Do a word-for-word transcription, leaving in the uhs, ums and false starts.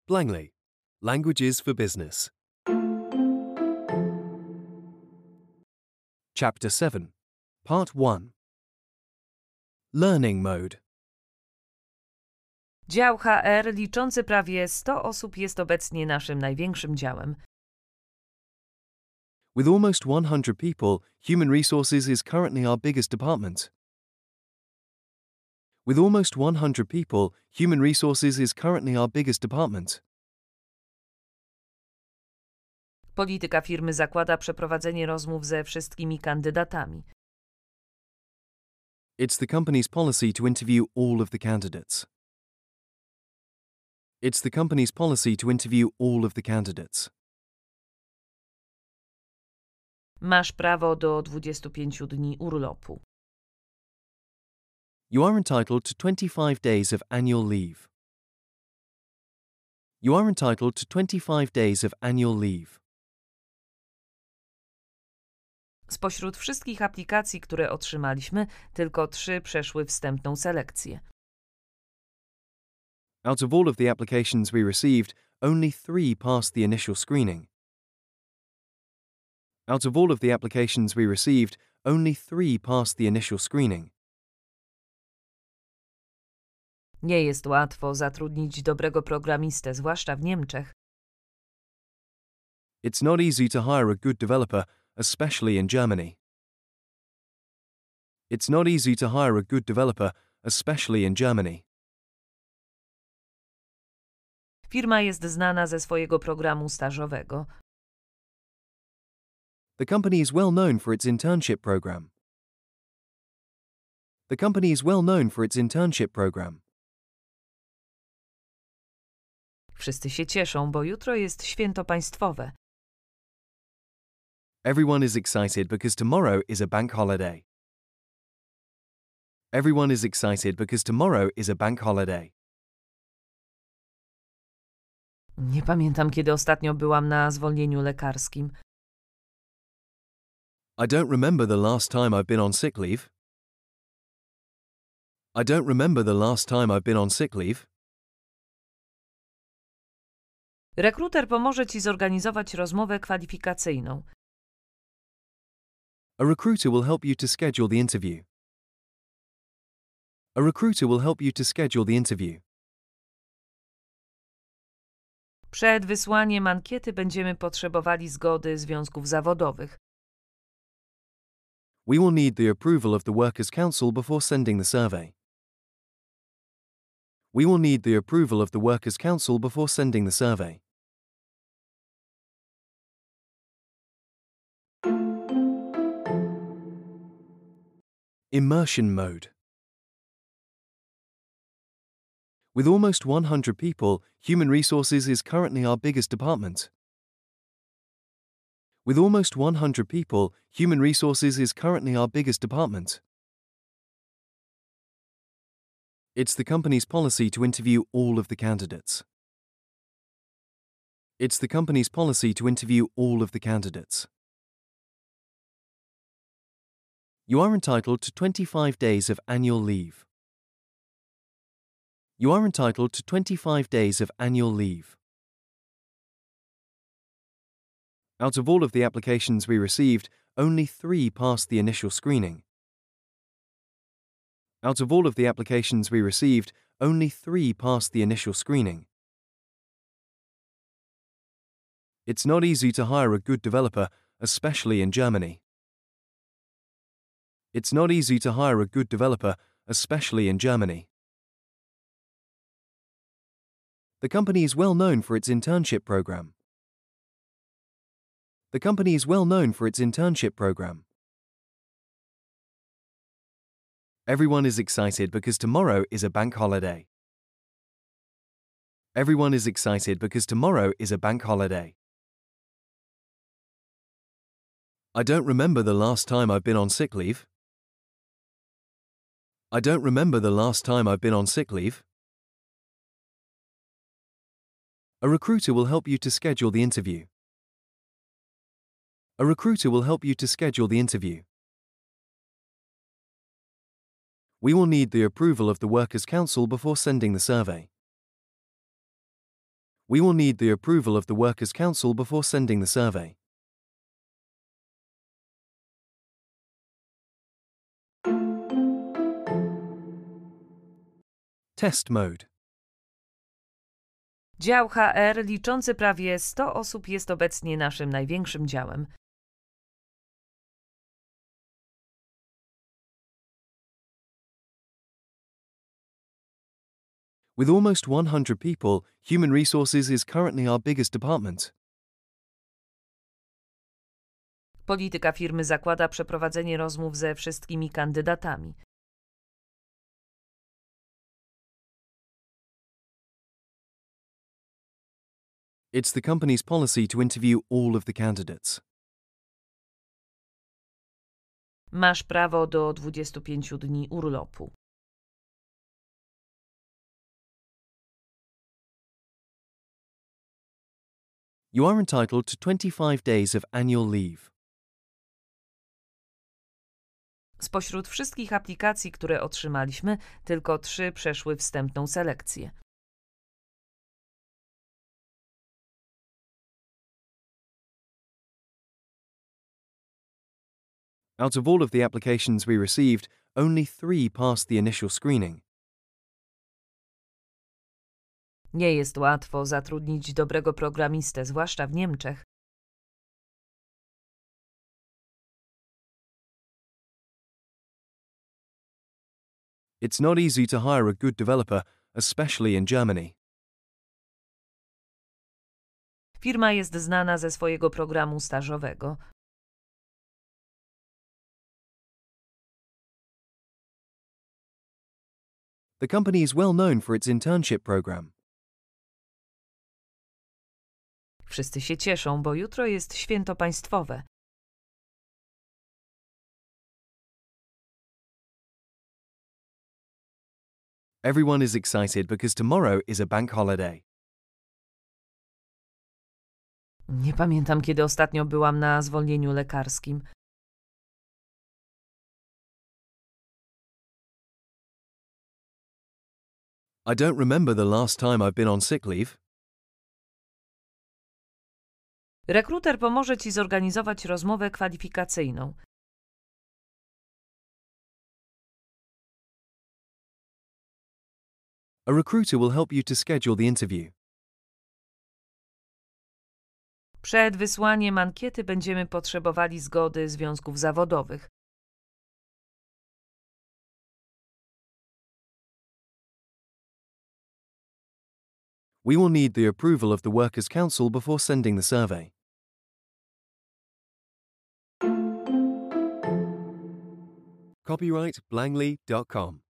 Langley, Languages for Business. Chapter seven, Part one. Learning Mode. Dział H R liczący prawie sto osób jest obecnie naszym największym działem. With almost one hundred people, Human Resources is currently our biggest department. With almost one hundred people, Human Resources is currently our biggest department. Polityka firmy zakłada przeprowadzenie rozmów ze wszystkimi kandydatami. It's the company's policy to interview all of the candidates. It's the company's policy to interview all of the candidates. Masz prawo do dwudziestu pięciu dni urlopu. You are entitled to twenty-five days of annual leave. You are entitled to twenty-five days of annual leave. Spośród wszystkich aplikacji, które otrzymaliśmy, tylko trzy przeszły wstępną selekcję. Out of all of the applications we received, only three passed the initial screening. Out of all of the applications we received, only three passed the initial screening. Nie jest łatwo zatrudnić dobrego programistę, zwłaszcza w Niemczech. It's not easy to hire a good developer, especially in Germany. It's not easy to hire a good developer, especially in Germany. Firma jest znana ze swojego programu stażowego. The company is well known for its internship program. The company is well known for its internship program. Wszyscy się cieszą, bo jutro jest święto państwowe. Everyone is excited because tomorrow is a bank holiday. Everyone is excited because tomorrow is a bank holiday. Nie pamiętam, kiedy ostatnio byłam na zwolnieniu lekarskim. I don't remember the last time I've been on sick leave. I don't remember the last time I've been on sick leave. Rekruter pomoże ci zorganizować rozmowę kwalifikacyjną. A recruiter will help you to schedule the interview. A recruiter will help you to schedule the interview. Przed wysłaniem ankiety będziemy potrzebowali zgody związków zawodowych. We will need the approval of the Workers' Council before sending the survey. We will need the approval of the Workers' Council before sending the survey. Immersion mode. With almost one hundred people, Human Resources is currently our biggest department. With almost one hundred people, Human Resources is currently our biggest department. It's the company's policy to interview all of the candidates. It's the company's policy to interview all of the candidates. You are entitled to twenty-five days of annual leave. You are entitled to twenty-five days of annual leave. Out of all of the applications we received, only three passed the initial screening. Out of all of the applications we received, only three passed the initial screening. It's not easy to hire a good developer, especially in Germany. It's not easy to hire a good developer, especially in Germany. The company is well known for its internship program. The company is well known for its internship program. Everyone is excited because tomorrow is a bank holiday. Everyone is excited because tomorrow is a bank holiday. I don't remember the last time I've been on sick leave. I don't remember the last time I've been on sick leave. A recruiter will help you to schedule the interview. A recruiter will help you to schedule the interview. We will need the approval of the Workers' Council before sending the survey. We will need the approval of the Workers' Council before sending the survey. Test mode. Dział H R liczący prawie sto osób jest obecnie naszym największym działem. With almost one hundred people, Human Resources is currently our biggest department. Polityka firmy zakłada przeprowadzenie rozmów ze wszystkimi kandydatami. It's the company's policy to interview all of the candidates. Masz prawo do dwudziestu pięciu dni urlopu. You are entitled to twenty-five days of annual leave. Spośród wszystkich aplikacji, które otrzymaliśmy, tylko trzy przeszły wstępną selekcję. Out of all of the applications we received, only three passed the initial screening. Nie jest łatwo zatrudnić dobrego programistę, zwłaszcza w Niemczech. It's not easy to hire a good developer, especially in Germany. Firma jest znana ze swojego programu stażowego. The company is well known for its internship program. Wszyscy się cieszą, bo jutro jest święto państwowe. Everyone is excited because tomorrow is a bank holiday. Nie pamiętam, kiedy ostatnio byłam na zwolnieniu lekarskim. I don't remember the last time I've been on sick leave. Rekruter pomoże Ci zorganizować rozmowę kwalifikacyjną. A recruiter will help you to schedule the interview. Przed wysłaniem ankiety będziemy potrzebowali zgody związków zawodowych. We will need the approval of the Workers' Council before sending the survey. Copyright Blangley dot com